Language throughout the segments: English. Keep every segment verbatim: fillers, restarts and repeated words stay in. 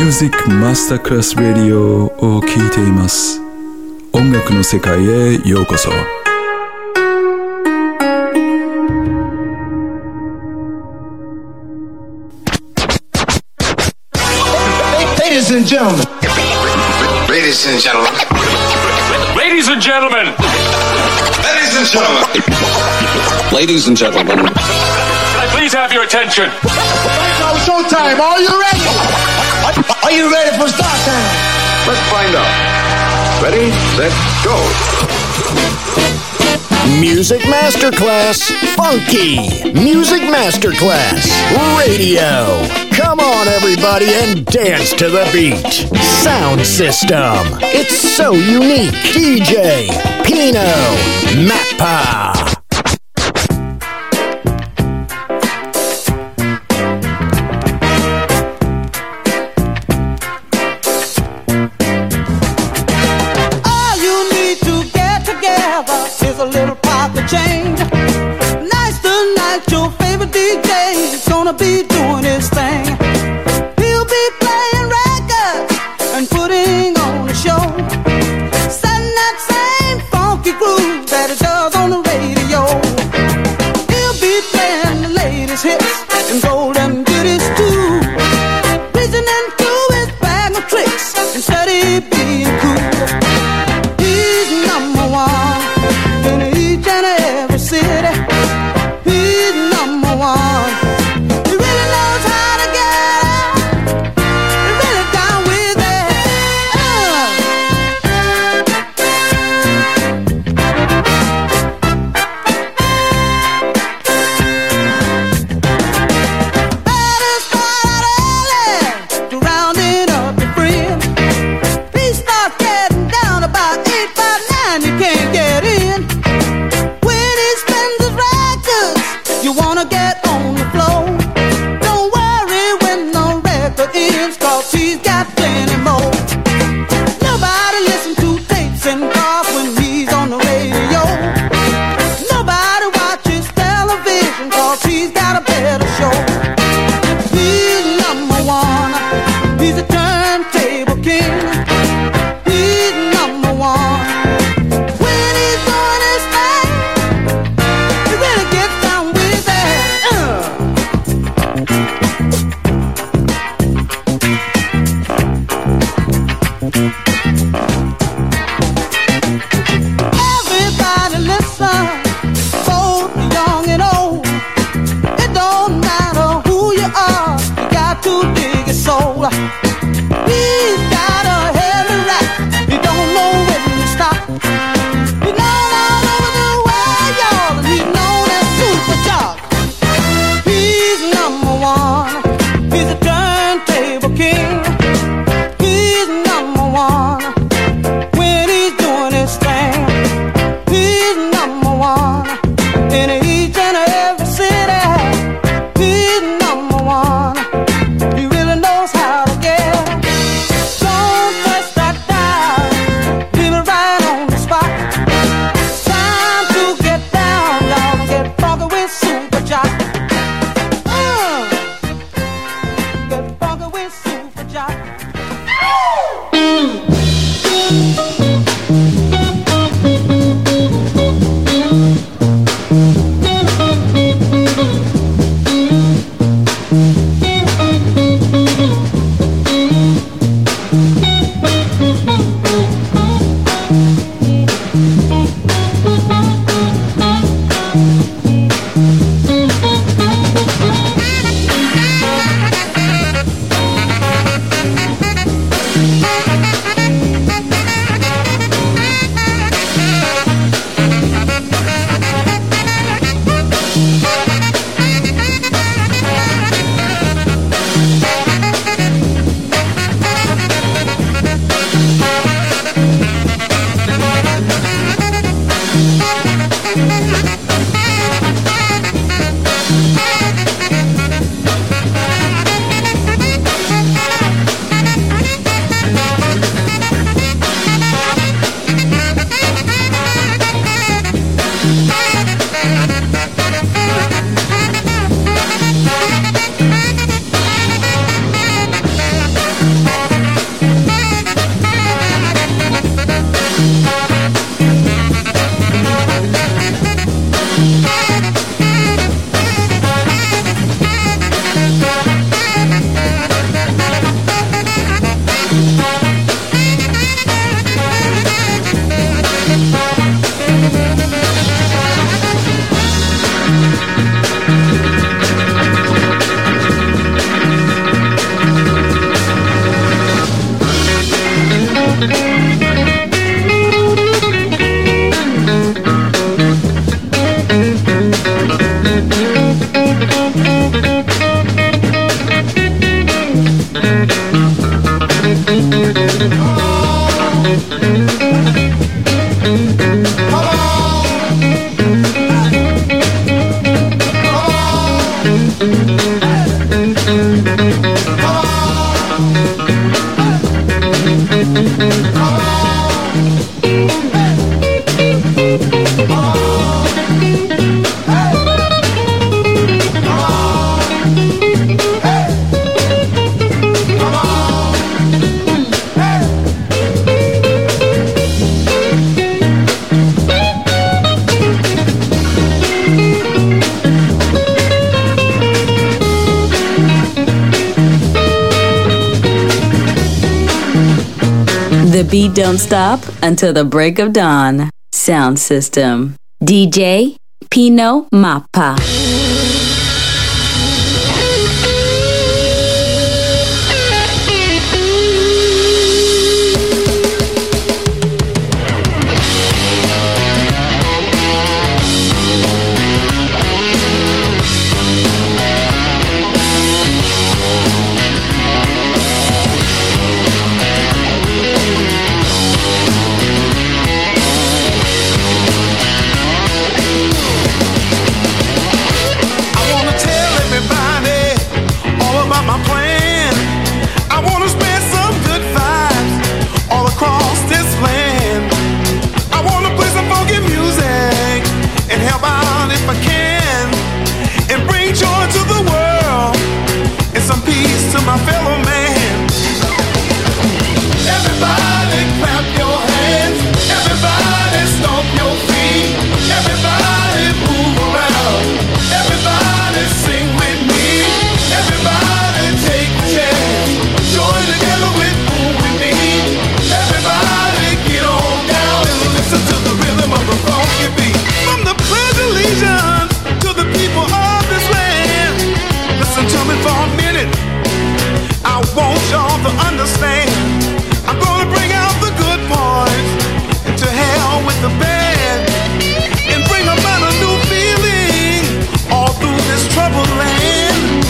Music Masterclass Radio を聴いています。音楽の世界へようこそ。 Ladies and gentlemen. Ladies and gentlemen. Ladies and gentlemen. Ladies and gentlemen. Ladies and gentlemen. Can I please have your attention? Now showtime. Are you ready? Are you ready for start time? Let's find out. Ready, set, go. Music Masterclass Funky. Music Masterclass Radio. Come on, everybody, and dance to the beat. Sound system. It's so unique. D J Pino Mappa. All you need to get together is a little pocket change. Nice tonight, your favorite D J is gonna be doing his thing. He'll be playing records and putting on a show, setting that same funky groove that it does on the radio. He'll be playing the latest hits and golden goodies too, reaching into his bag of tricks and steady being cool. He's number one in each and every city. He's number one. He really knows how to get out. He really down with it. Uh. Better start out early to rounding up your friends. He starts getting down about eight by nine. You can't get in. When he spends his records, you wanna get on the floor. Don't worry when the record ends, 'cause he's got plenty more. Nobody listens to tapes and cars when he's on the radio. Nobody watches television, 'cause he's got a better show. He's number one. He's a turntable king. He's number one. When he's doing his thing, he really gets down with it. Uh. Everybody listen, both young and old. It don't matter who you are, you got to dig his soul. He's got a heavy rap, you don't know when to stop. He's known all over the world, y'all, and he's known as Super Jock. He's number one, he's a turntable king. He's number one when he's doing his thing. He's number one in each and every city. He's number one. He really knows how to get. Don't touch that dial. Leave it right on the spot. Time to get down, y'all, and get funky with Super Jock. Uh, get funky with Super Jock. The beat don't stop until the break of dawn. Sound system. D J Pino Mappa. My fellow man, everybody clap your hands, everybody stomp your feet, everybody move around, everybody sing with me, everybody take a chance, join together with who we need, everybody get on down and listen to the rhythm of the funky beat. From the pledge of allegiance to the people of this land, listen to me for a minute. I want y'all to understand, I'm gonna bring out the good points, and to hell with the bad, and bring about a new feeling all through this troubled land.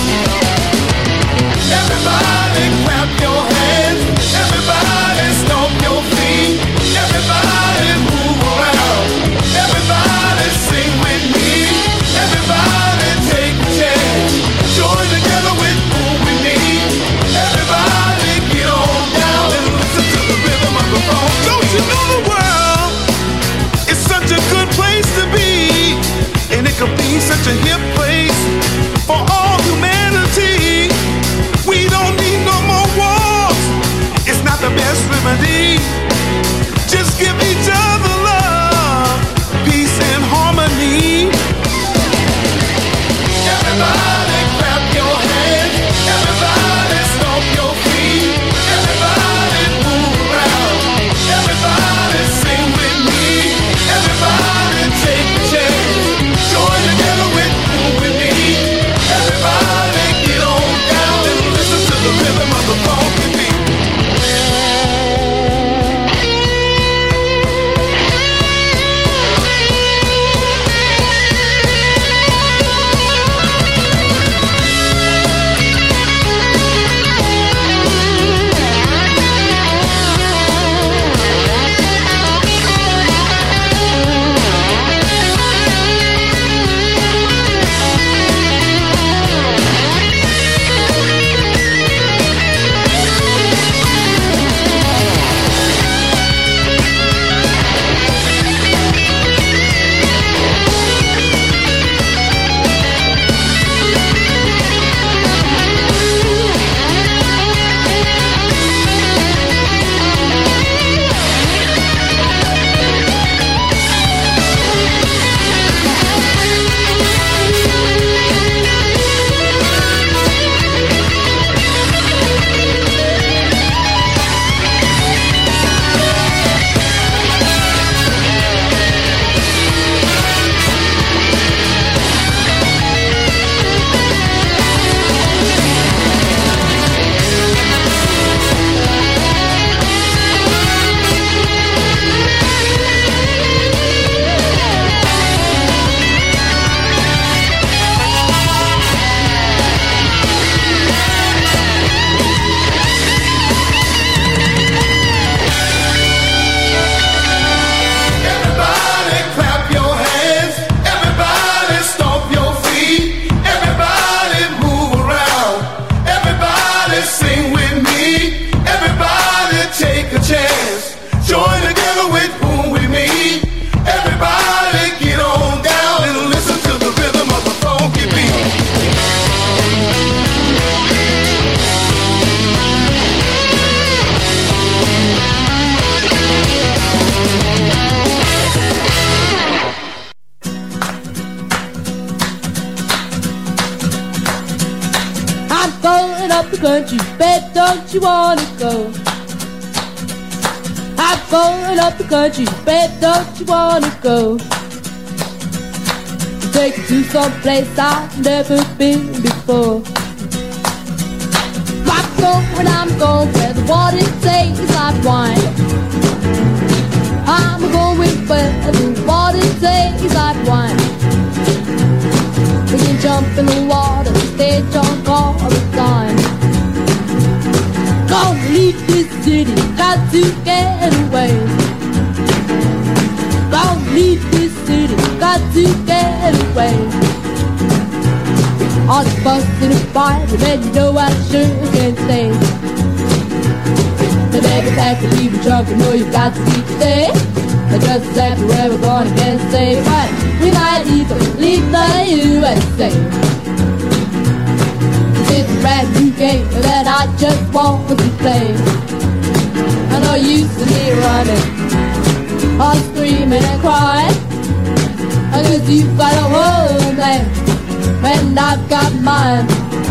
Everybody clap your hands, everybody stomp your feet, everybody move around, everybody sing with me, everybody take a chance, join together with who we need. Everybody get on down and listen to the rhythm of the phone. Don't you know the world is such a good place to be, and it could be such a hip place for all humanity. We don't need no more wars. It's not the best remedy. Just give each other love, peace and harmony. Everybody clap your hands, everybody stomp your feet, everybody move around, everybody sing with me, everybody take a chance, join together with who we need, everybody get on down and listen to the rhythm of the funky beat. going up the country, bet don't you wanna go? I'm going up the country, bet don't you wanna go? Take you to some place I've never been before. I'm going, I'm going where the water tastes like wine. I'm going where the water tastes like wine. We can jump in the water, stay drunk all the time. Gonna leave this city, got to get away. Gonna leave this city, got to get away. All the fuss and the fight, and then you know I sure can stay. The baby pack to leave you drunk, you know you got to leave today. That's just exactly where we're gonna get safe. But we might even leave the U S A. It's a brand new game that I just want to play. I know you used to me running, all screaming and crying. I guess you've got a whole man, and I've got mine.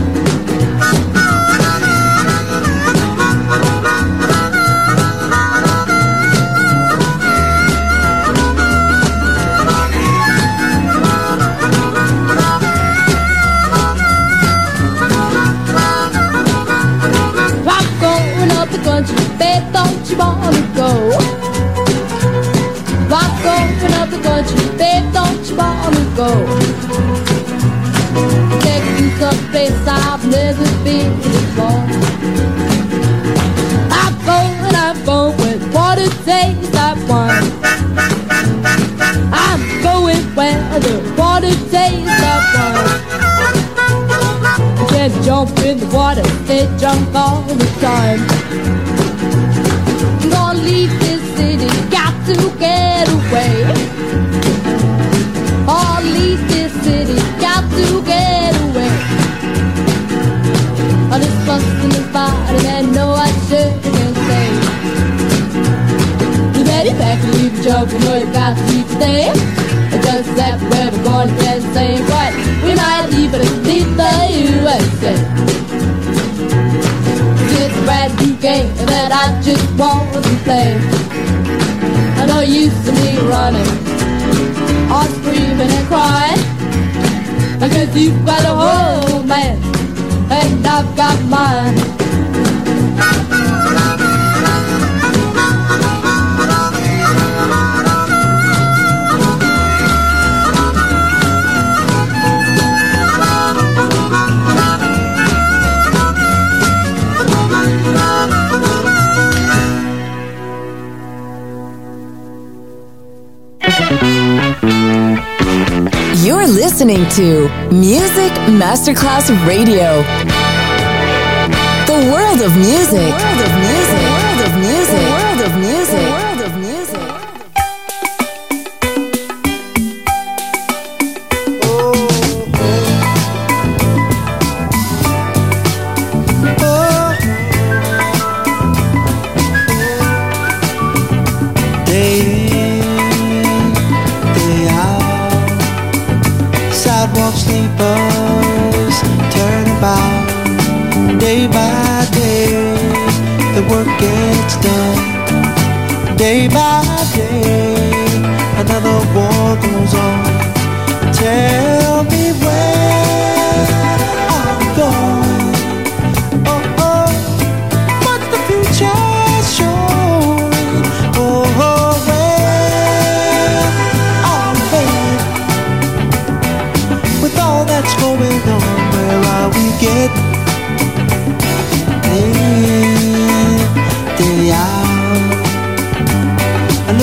Babe, don't you wanna go? I'm going up the country, babe, don't you wanna go? Take you someplace I've never been before. I'm going, I'm going, what it takes, I'm one. I'm going where the water tastes, I'm one. You can jump in the water, stay drunk all the time. Gonna leave this city, got to get away. Oh, leave this city, got to get away. All this fuss and this fight, and no, I sure can say. You better pack and leave the joke, you know you got to leave today. It's just that where we're going to get the same. But we might even leave the U S A. It's a brand new game that I just want to play. I know you used to me running, all screaming and crying. Because you've got a whole man, and I've got mine. You're listening to Music Masterclass Radio. The world of music. The world of music. The world of music. The world of music. The world of music. Sleepers turn about day by day. The work gets done day by day. Another war goes on. Tell me where I'm going. Oh oh, what's the future showing? Oh oh, where I'm headed. With all that's going on, where are we getting? Day, day out.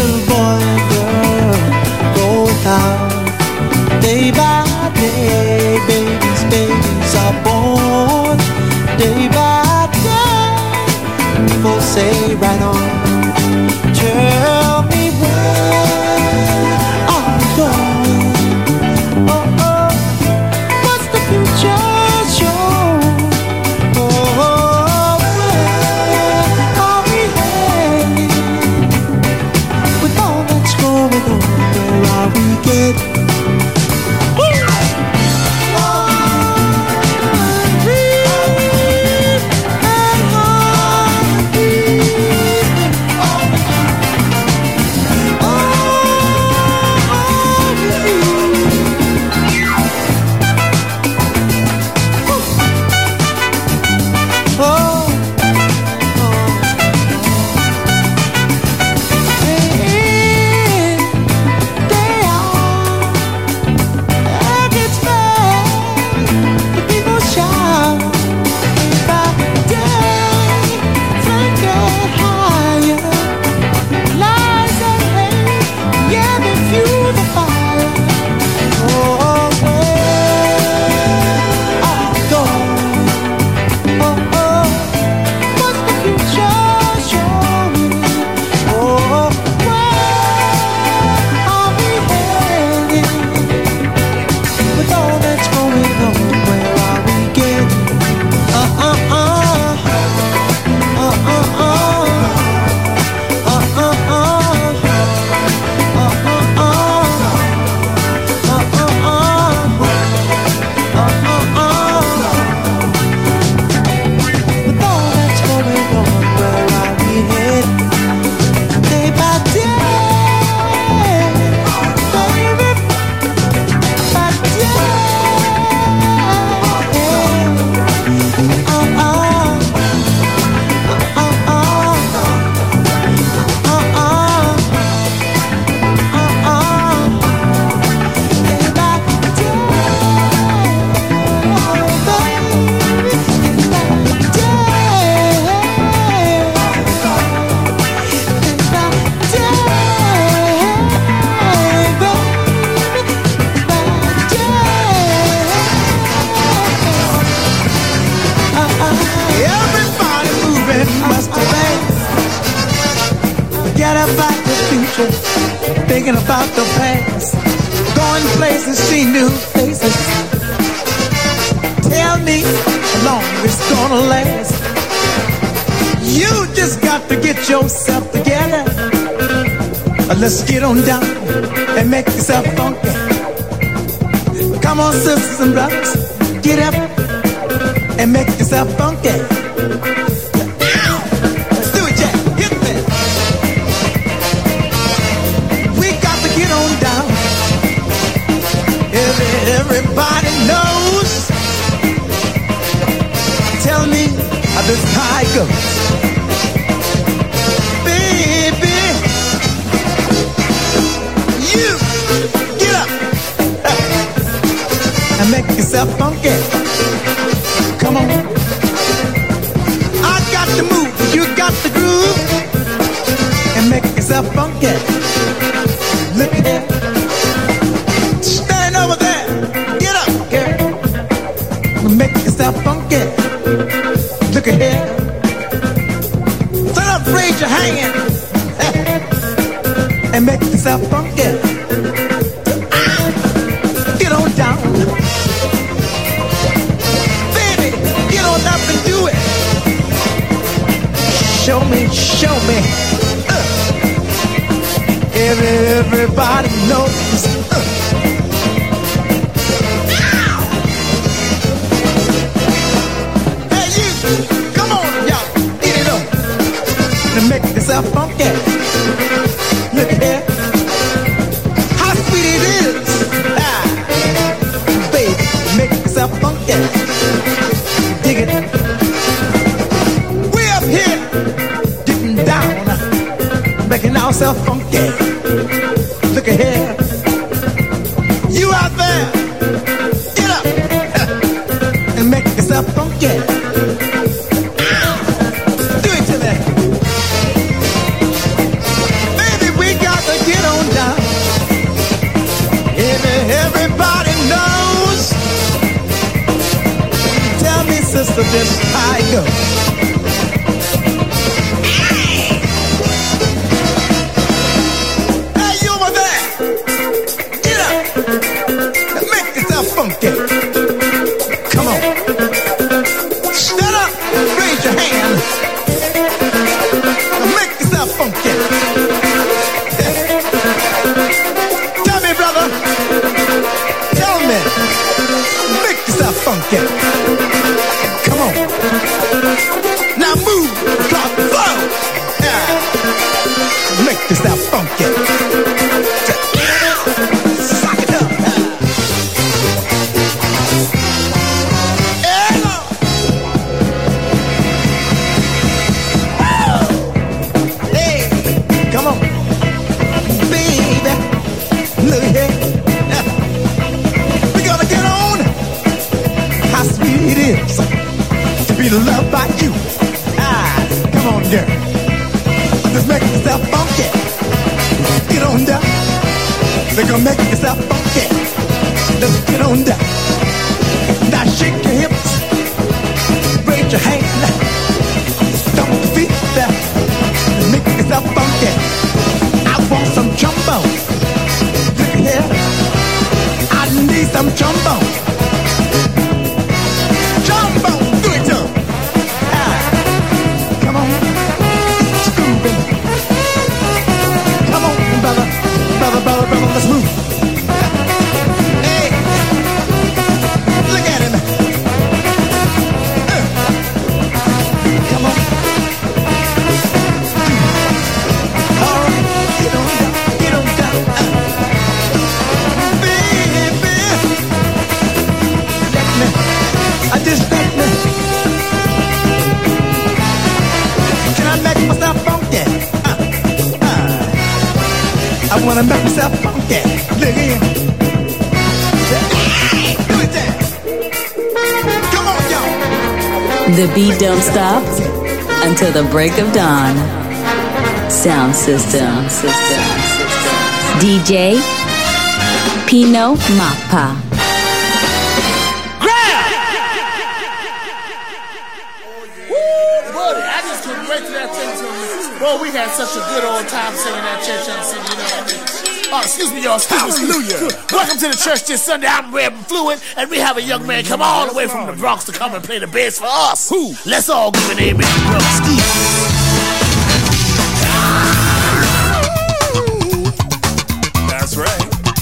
future, thinking about the past, going places, see new faces. Tell me how long it's gonna last. You just got to get yourself together. Let's get on down and make yourself funky. Come on, sisters and brothers, get up and make yourself funky. Let's do it, Jack. Hit me. We got to get on down. Every, everybody knows. Tell me how this high goes. Baby, you get up and make yourself funky. Come on. I got the move, you got the groove, and make yourself funky. Look at that. Stand over there. Get up, girl. Make yourself funky. Look at here. Stand up, raise your hand, and make yourself funky. Get on down. Baby, get on up and do it. Show me, show me. Uh. Every, everybody knows. Uh. Hey, you. Come on, y'all. Get it up. And make yourself funky. Look at here. How sweet it is. Ah. Baby, make yourself funky. Dig it. Way up here, getting down, making ourselves funky. Look at here. You out there, get up and make yourself funky. Do it to me. Baby, we got to get on down. Every, everybody knows. Tell me, sister, just how it goes. Hey, you over there, get up and make yourself funky. Come on. Stand up, raise your hand, and make yourself funky. Tell me, brother, tell me, make yourself funky. Come on. Now move, drop, flow. Yeah. Make yourself funky. Sock it up. Yeah. Hey, come on. Baby, look here. We're gonna get on. How sweet it is to be loved by you. Ah, come on, girl. Just make yourself funky. Get on down. They're gonna make yourself funky. Let's get on down. Now shake your hips. Raise your hand. Stomp your feet there. Make yourself funky. I want some trombone. Look at here. I need some trombone. Trombone, do it to 'em. Ah, come on, it's grooving. Come on, brother, brother, brother, brother, let's move. Hey, look at him. Uh, come on. All right, get on down, get on down. Uh, baby, let me, I just let me. Can I make myself funky? Uh, uh, I wanna make myself funky. Look here. Do it there. Come on, y'all. The beat don't stop until the break of dawn. Sound system. D J Pino Mappa. Boy, we had such a good old time singing that church on Sunday, you know what I mean? Oh, excuse me, y'all. Excuse me. Hallelujah. Welcome to the church this Sunday. I'm Reb Fluid, and we have a young man come all the way from the Bronx to come and play the bass for us. Who? Let's all give an amen, brother Steve. That's right.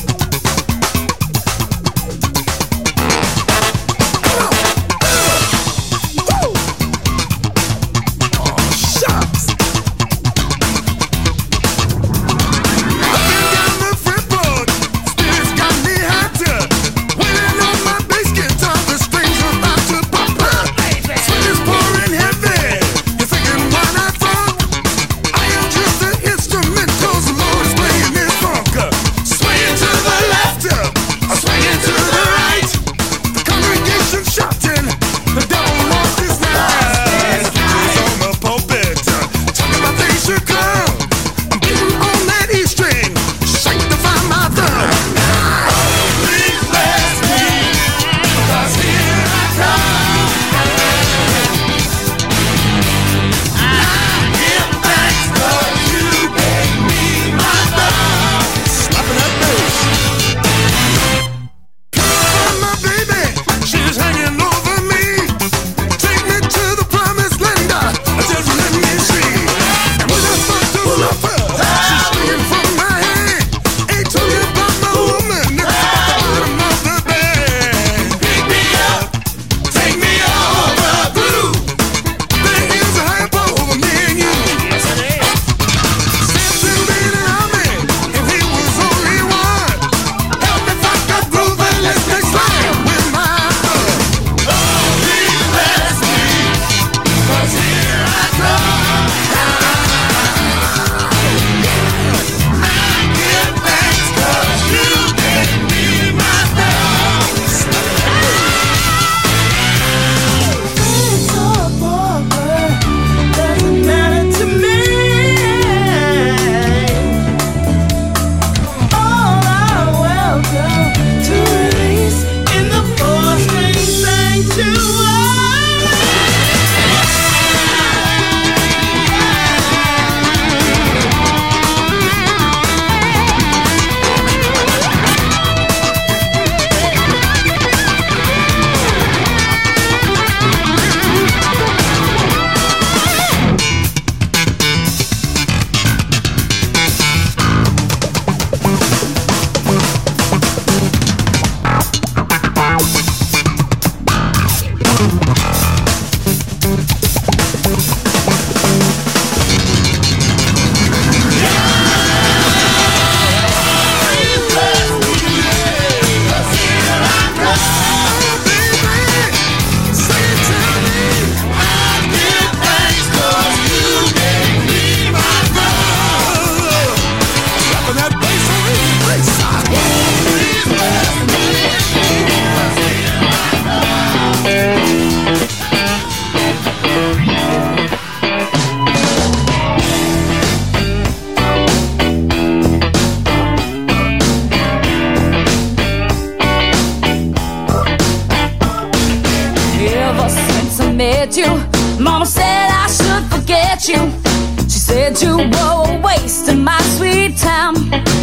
met you. Mama said I should forget you. She said you were wasting my sweet time.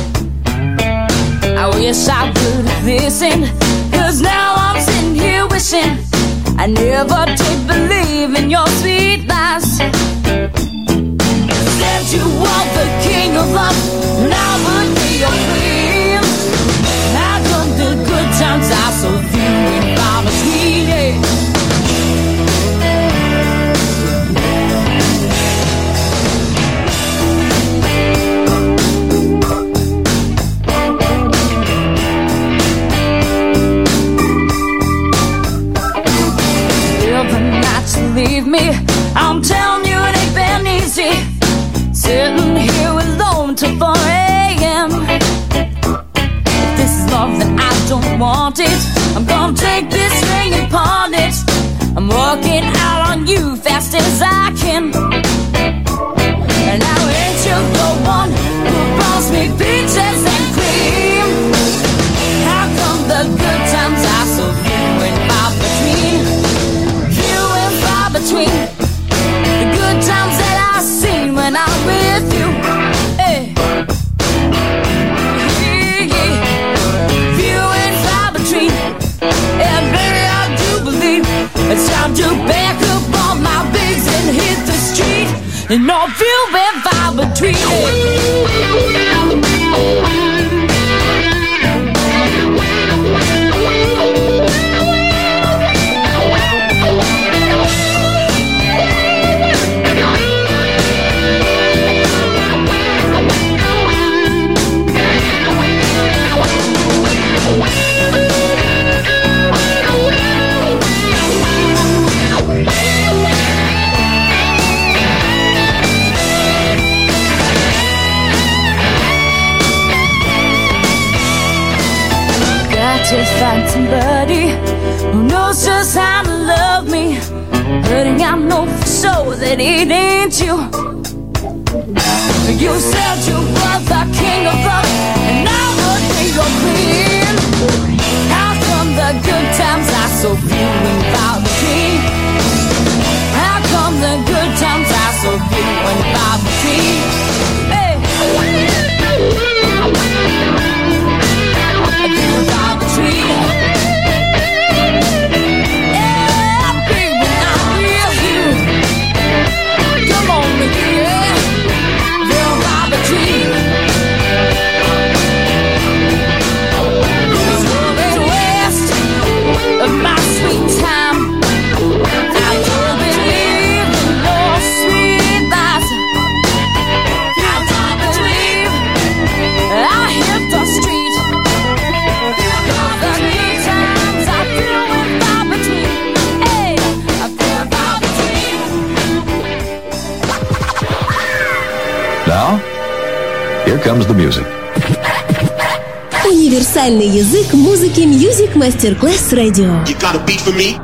I wish I would have listened, 'cause now I'm sitting here wishing I never did believe in your sweet lies. Said you want the king of love, and I would be your queen. How come the good times are so few and far between? Yeah. Leave me, I'm telling you it ain't been easy, sitting here alone till four a.m. If this is love then I don't want it. I'm gonna take this ring and pawn it. I'm working out on you fast as I can. And now ain't you the one who brought me peaches and cream? How come the good times are so few and far between? Between the good times that I seen when I was and no few and far between. To find somebody who knows just how to love me, but I know for sure that it ain't you. You said you were the king of love, and I would be your queen. How come the good times are so few and far between? How come the good times are so few and far between? Hey. Here comes the music. Универсальный язык музыки Music Masterclass Radio. You got a beat for me?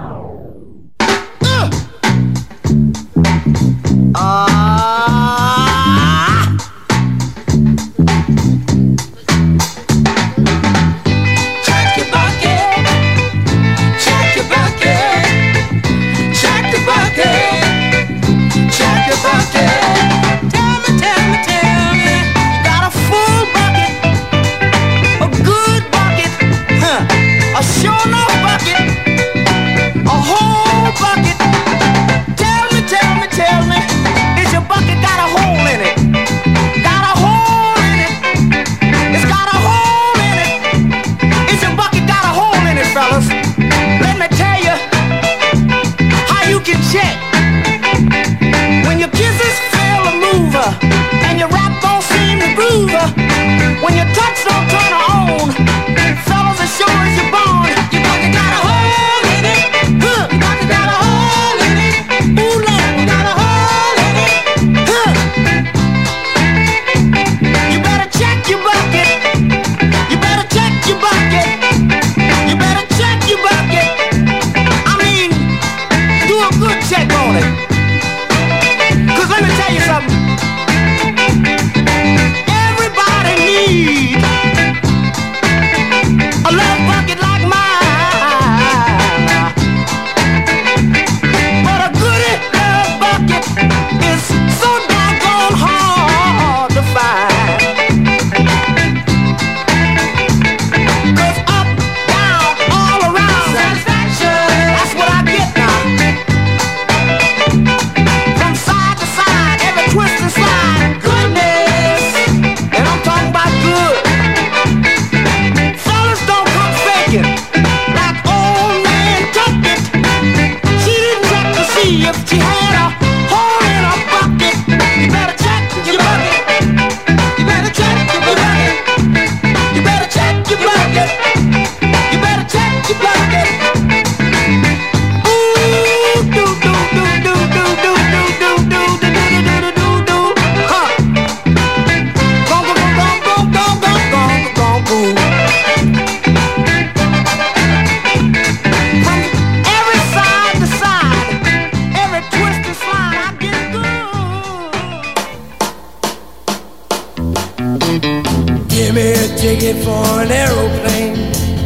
ticket for an aeroplane.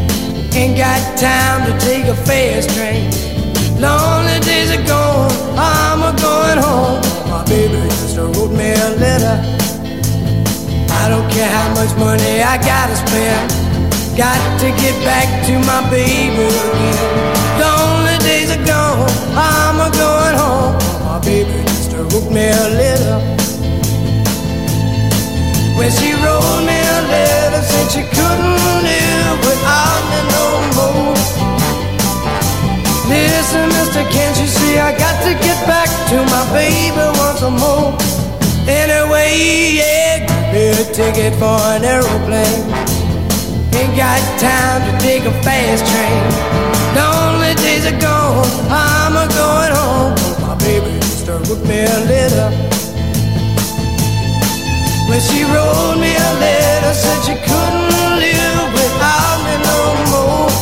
Ain't got time to take a fast train. Lonely days are gone, I'm a going home. My baby just wrote me a letter. I don't care how much money I gotta spend. Got to get back to my baby again. Lonely days are gone, I'm a going home. My baby just wrote me a letter. see, I got to get back to my baby once more. Anyway, yeah, give me a ticket for an aeroplane. Ain't got time to take a fast train. Lonely days are gone, I'm a going home. My baby just wrote me a letter. When she wrote me a letter, said she couldn't live without me no more.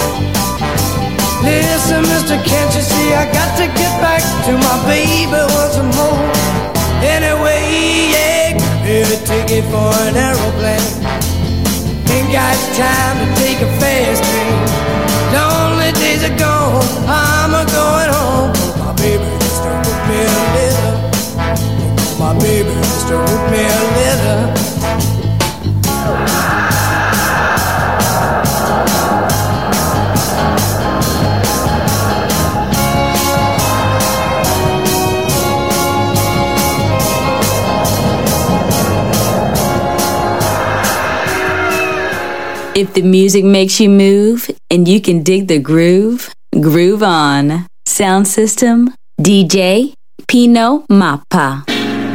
Listen, mister, can't you see I got to get back to my baby once more. Anyway, yeah, give me a ticket for an aeroplane. Ain't got time to take a fast train. Lonely days are gone, I'm a going home. My baby just wrote me a letter. My baby just wrote me a letter. If the music makes you move and you can dig the groove, groove on. Sound system, D J Pino Mappa.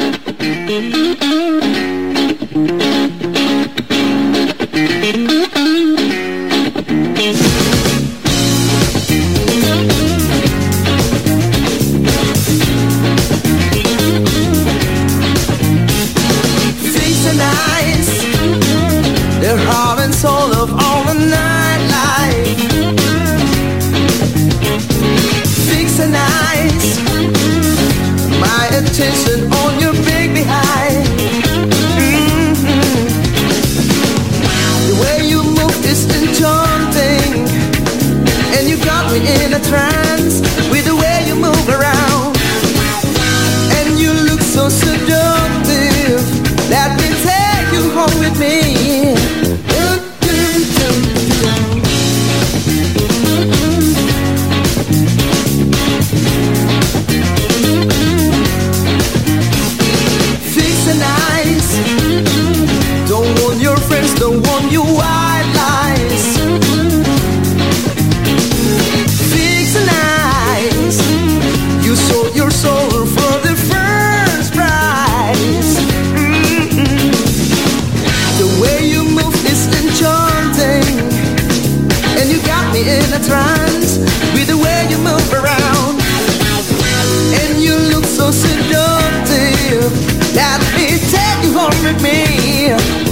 Facing eyes, they're heart and soul of all the nightlife. Fixing eyes, my attention on your big behind. Mm-hmm. The way you move is enchanting, and you got me in a trance with the way you move around. And you look so seductive, let me take you home with me. Fixing eyes, don't want your friends, don't want you white lies. Fixing eyes, you sold your soul for the first prize. Mm-mm. The way you move is enchanting, and you got me in a trance with the way you move around. And you look so seductive, let me take you home with me.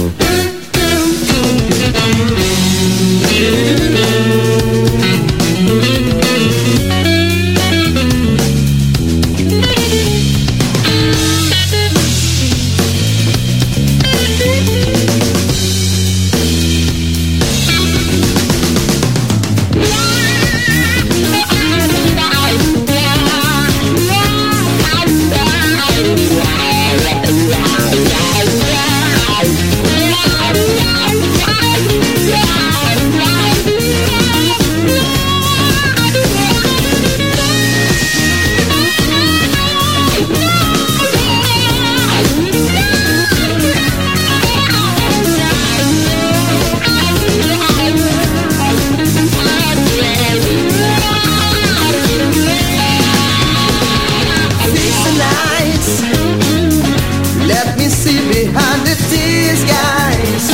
Let me see behind the disguise.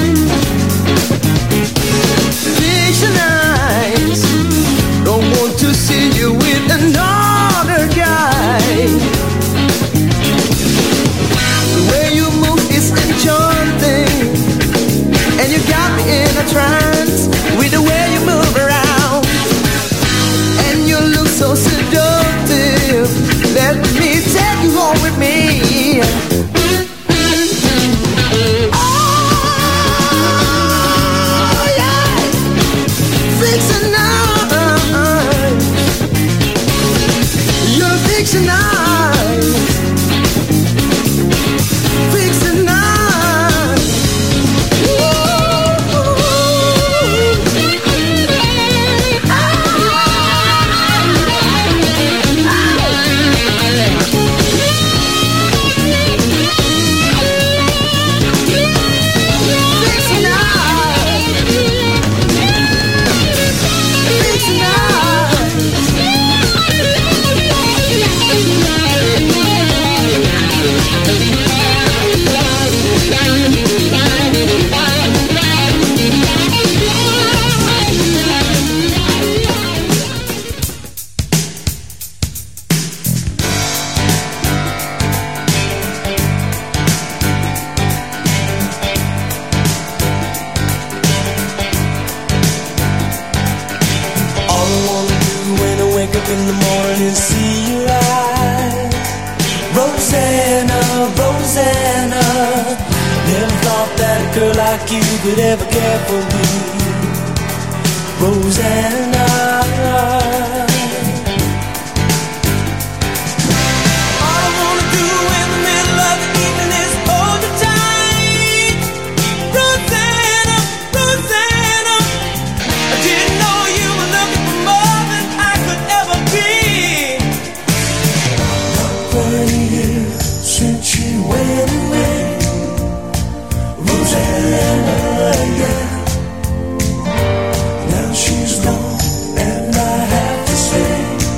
Fiction eyes, don't want to see you with another guy. The way you move is enchanting, and you got me in a trance with the way you move around. And you look so seductive, let me take you home with me. Oh yeah, fixing eyes, you're fixing eyes, fixing eyes. Ooh. Ah. up in the morning and see your eyes. Rosanna, Rosanna, never thought that a girl like you could ever care for me. Rosanna, all I wanna do in the middle of the evening is hold you tight. Rosanna, Rosanna, I didn't know you were looking for more than I could ever be. Not quite a year since you went away, Rosanna, yeah. Now she's gone, and I have to say,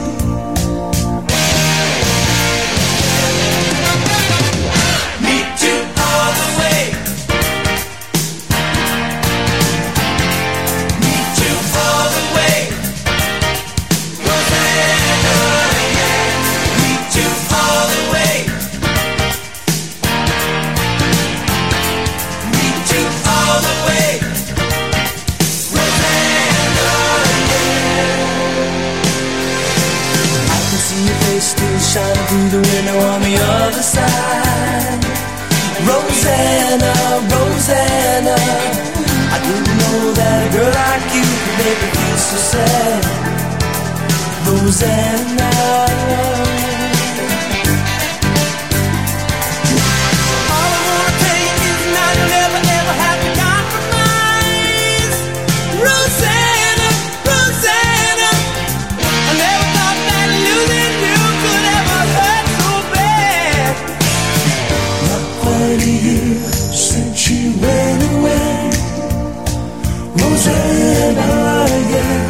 meet you all the way. Meet you all the way. Rosanna, yeah. Meet you all the way. Meet you all the way. Rosanna, yeah. I can see your face still shining through the window on the other side. Rosanna, Rosanna, I didn't know that a girl like you could make me feel so sad. Rosanna, all I wanna tell you is now you'll never ever have to compromise. Rosanna, Rosanna, I never thought that losing you could ever hurt so bad. Not quite a year since you went away, Rosanna, yeah.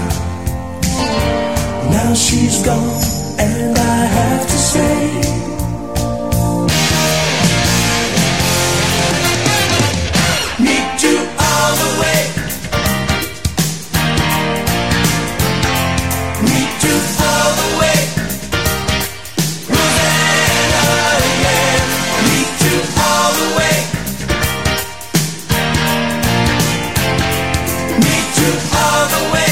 Now she's gone, and I have to say, meet you all the way. Meet you all the way. Rosanna, yeah. Meet you all the way. Meet you all the way.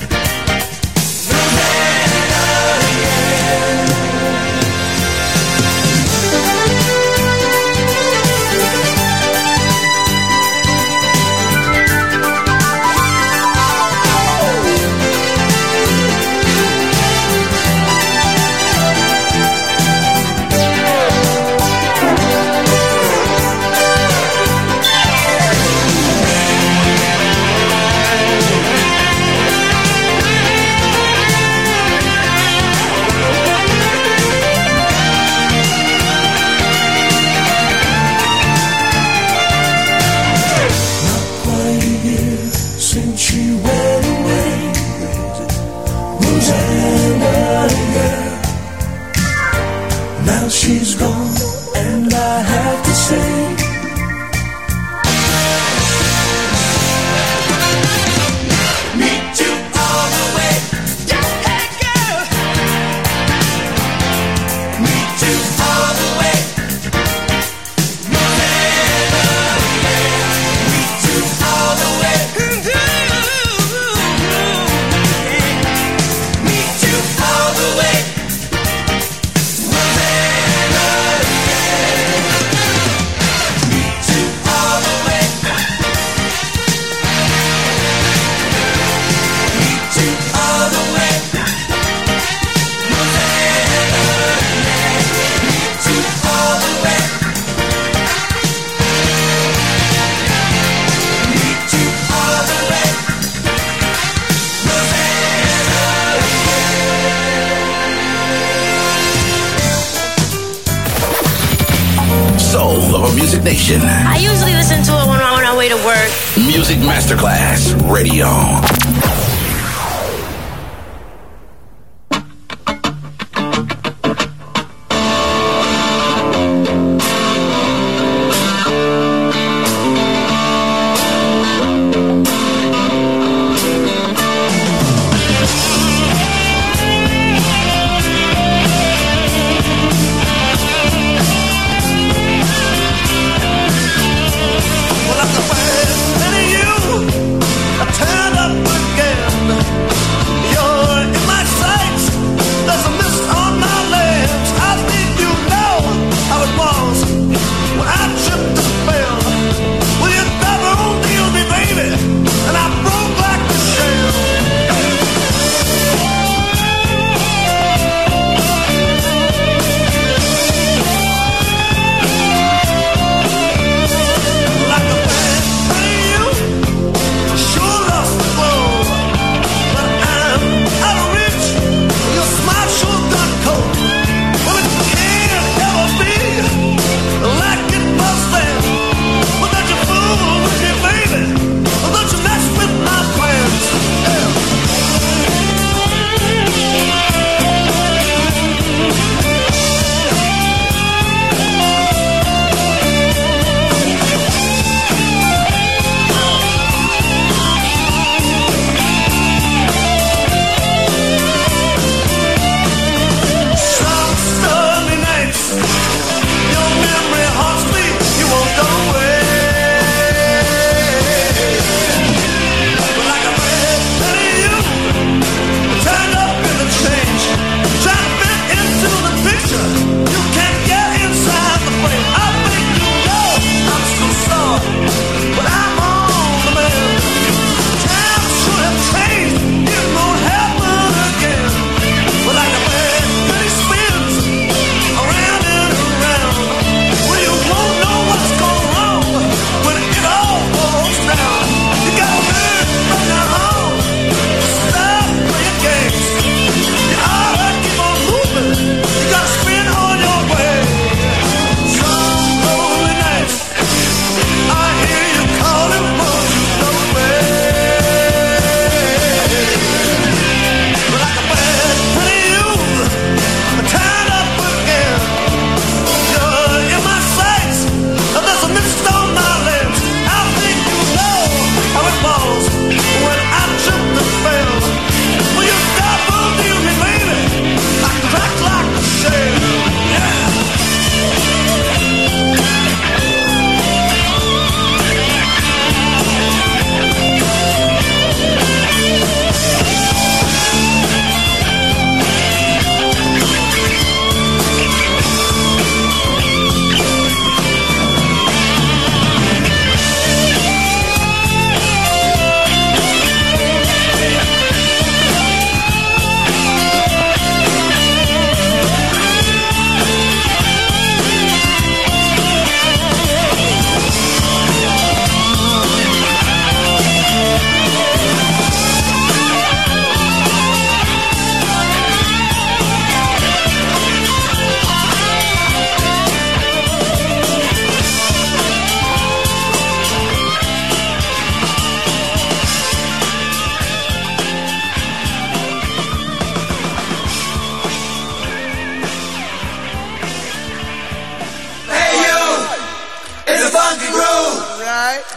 She's gone, and I have to say, meet you all the way. Hey girl, meet you all the way. Rosanna, yeah. Meet you all the way. Meet you all the way. Soul of a Music Nation. I usually listen to it when I'm on my way to work. Music Masterclass Radio. Well, I'm the first of you. I turned up again.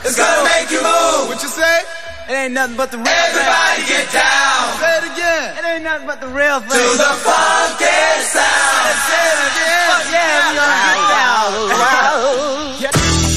It's gonna make you move. What you say? It ain't nothing but the real Everybody thing. get down. Say it again. It ain't nothing but the real thing. To the funky sound. Say it again. Fuck yeah, we gonna get down. Yeah.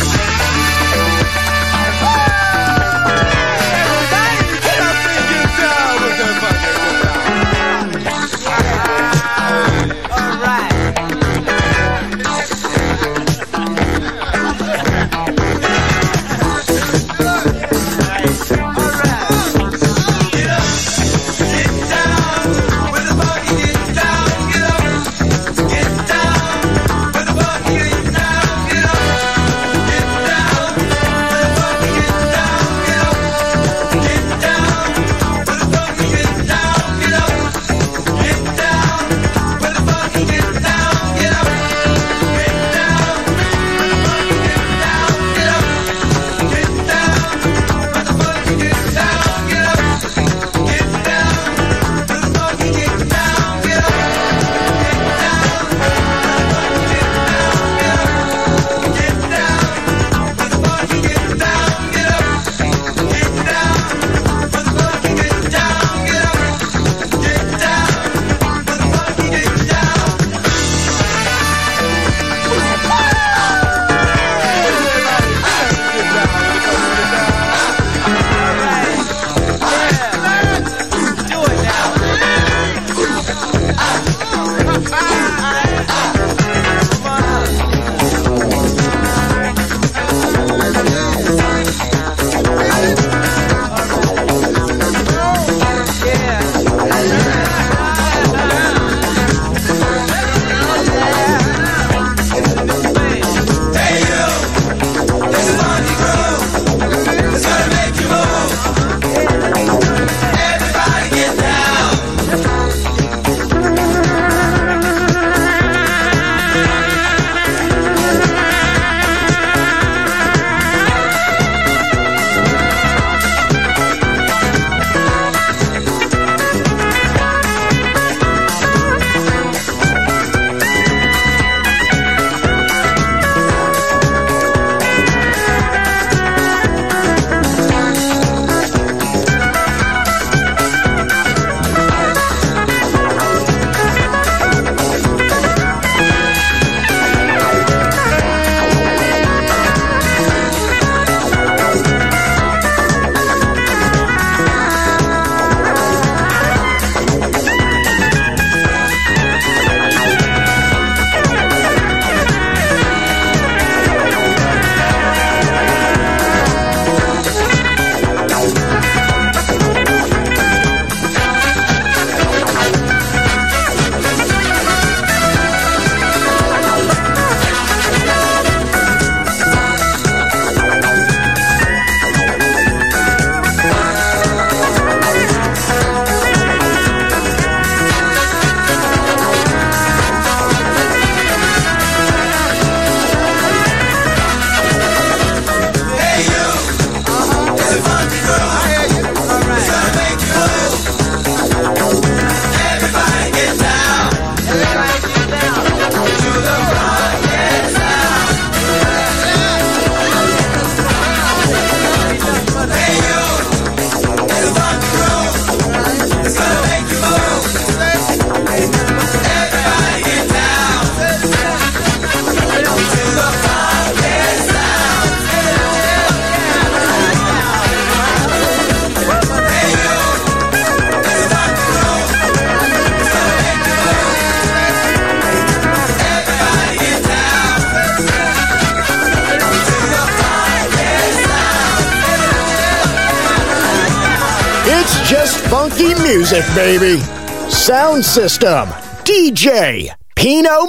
Just funky music, baby. Sound system, D J Pino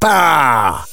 Mappa.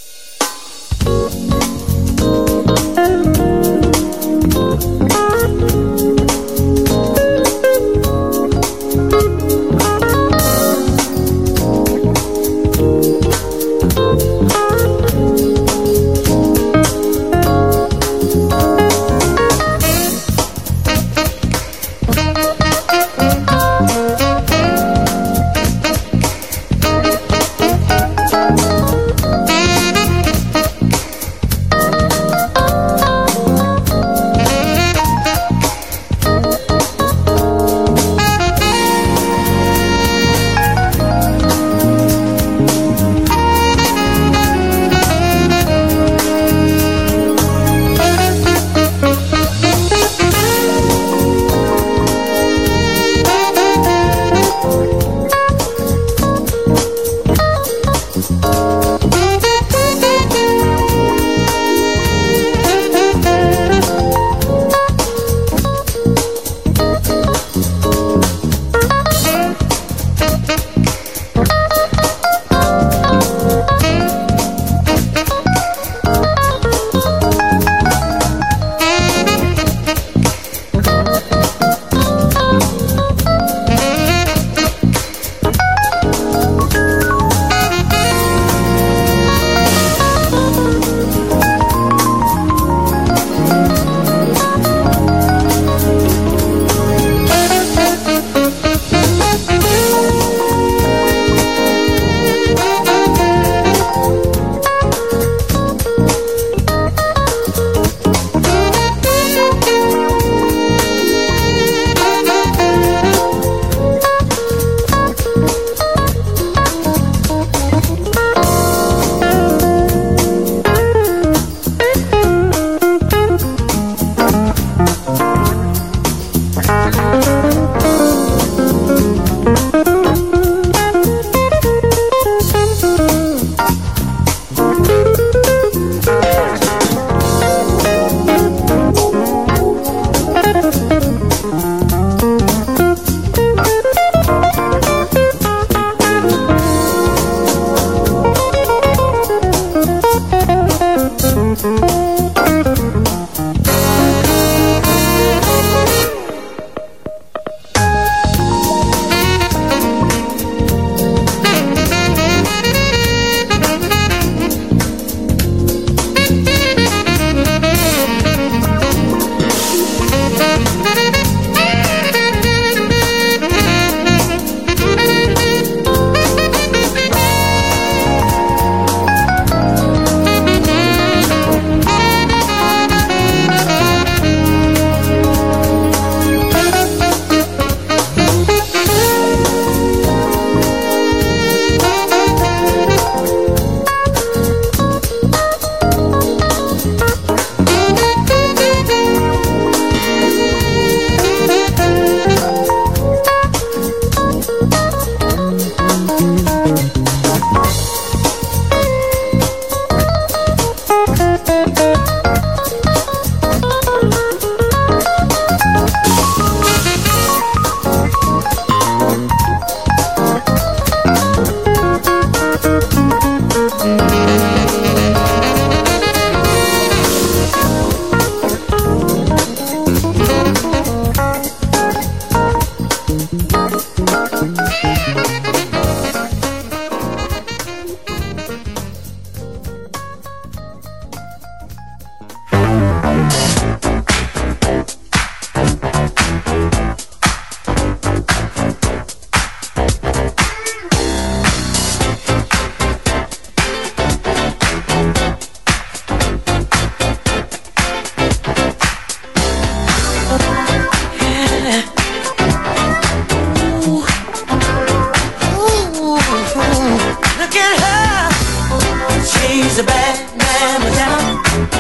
Look at her, she's a bad mamma jamma,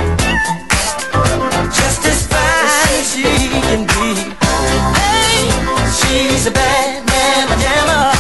just as fine as she can be. Hey, she's a bad mamma jamma,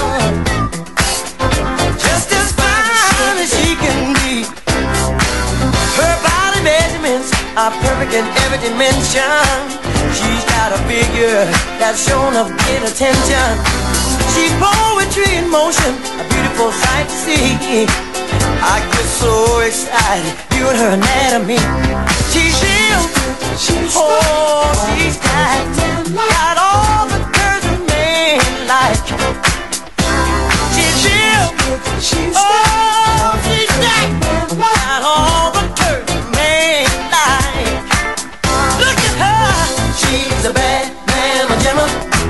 just as fine as she can be. Her body measurements are perfect in every dimension. She's got a figure that's shown of great attention. She's poetry in motion, a beautiful sight to see. I get so excited viewing her anatomy. She's real, oh, she's got, got all the curves a man like. She's real, oh, she's got, got all the curves a man like. Look at her, she's a bad mamma jamma,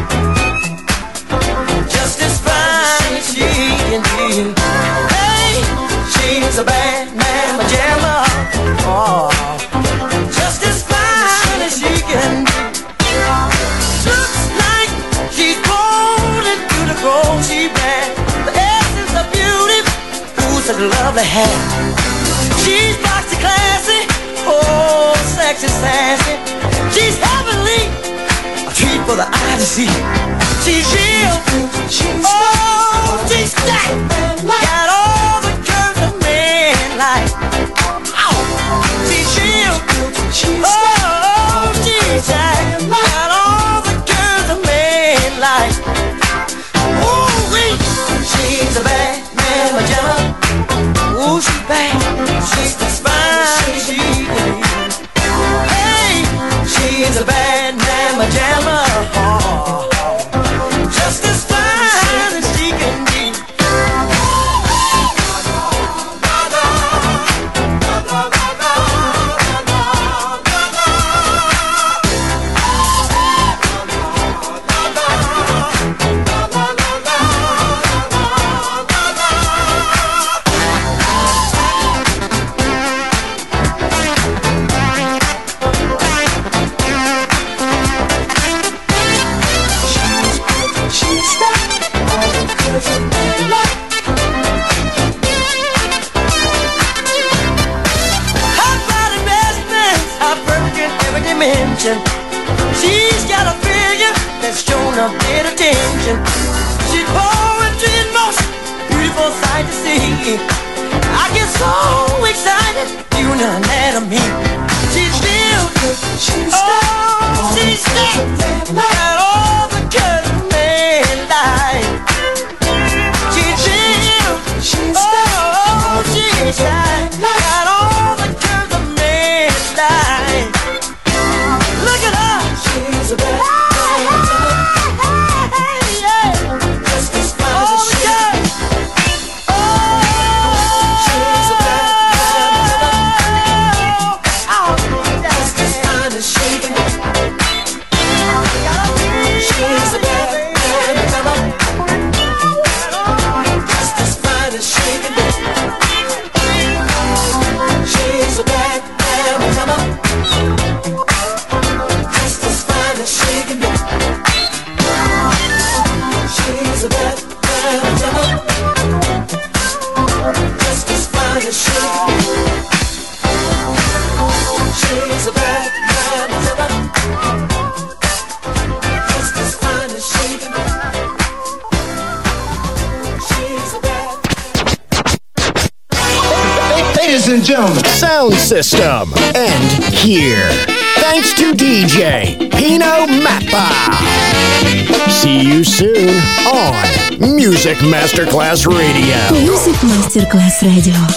just as fine as she can be. Hey, she's a bad mamma jamma, oh, just as fine as she can be. Looks like she's born into the grove she bears. The essence of beauty, ooh, such a lovely hair. She's boxy classy, oh, sexy sassy. She's heavenly, a treat for the eye to see. She's real, oh, she's stacked, got all the curves a man like. Oh, she's real, oh, she's stacked, got all the curves a man like. Ooh, wee, she's a bad mamma jamma. Ooh, she's bad, she's as fine as she can be. Hey, she's a bad mamma jamma, oh, just as fine as she can be. She's got a figure that's shown a bit of attention. She's poetry in motion, beautiful sight to see. I get so excited viewing her anatomy. She's real, oh, she's thick, got all the curves a man like. She's real, oh, she's shy, got all the curves a man like. Look at her, she's a bad mamma, just as fine as she can be. Oh, she's a bad mamma, just as fine as she can be. She's a bad mamma, just as fine as she can be. She's a bad mamma, just as fine as she can be. She's a bad mamma, just as fine as she can be. She's a bad mamma, just as fine as she can be. She's a bad. Ladies and gentlemen, Sound System end here. Thanks to D J Pino Mappa. See you soon on Music Masterclass Radio. Music Masterclass Radio.